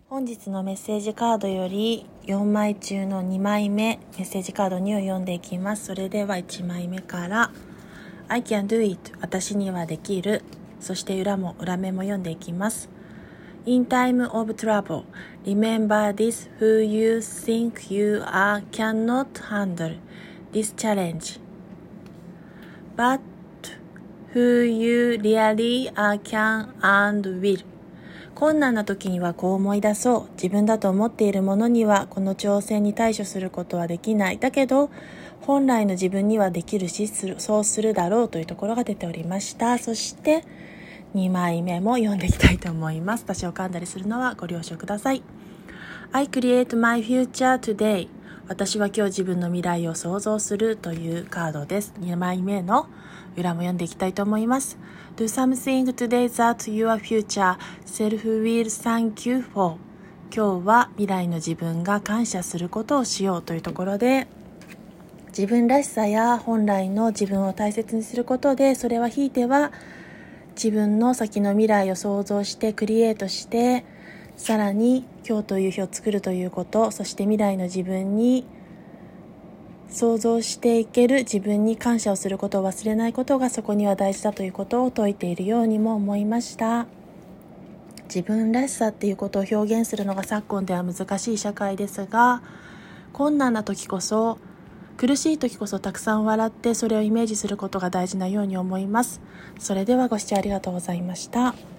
本日のメッセージカードより4枚中の2枚目メッセージカード2を読んでいきます。それでは1枚目から I can do it 私にはできる、そして裏目も読んでいきます。 In time of trouble remember this who you think you are cannot handle this challenge but who you really are can and will。困難な時にはこう思い出そう。自分だと思っているものにはこの挑戦に対処することはできない。だけど本来の自分にはできるし、そうするだろうというところが出ておりました。そして2枚目も読んでいきたいと思います。私を噛んだりするのはご了承ください。I create my future today。 私は今日自分の未来を想像するというカードです。2枚目の裏も読んでいきたいと思います。Do something today that your future self will thank you for。 今日は未来の自分が感謝することをしようというところで、自分らしさや本来の自分を大切にすることで、それはひいては自分の先の未来を想像してクリエイトして、さらに今日という日を作るということ、そして未来の自分に想像していける自分に感謝をすることを忘れないことがそこには大事だということを説いているようにも思いました。自分らしさっていうことを表現するのが昨今では難しい社会ですが、困難な時こそ、苦しい時こそたくさん笑ってそれをイメージすることが大事なように思います。それではご視聴ありがとうございました。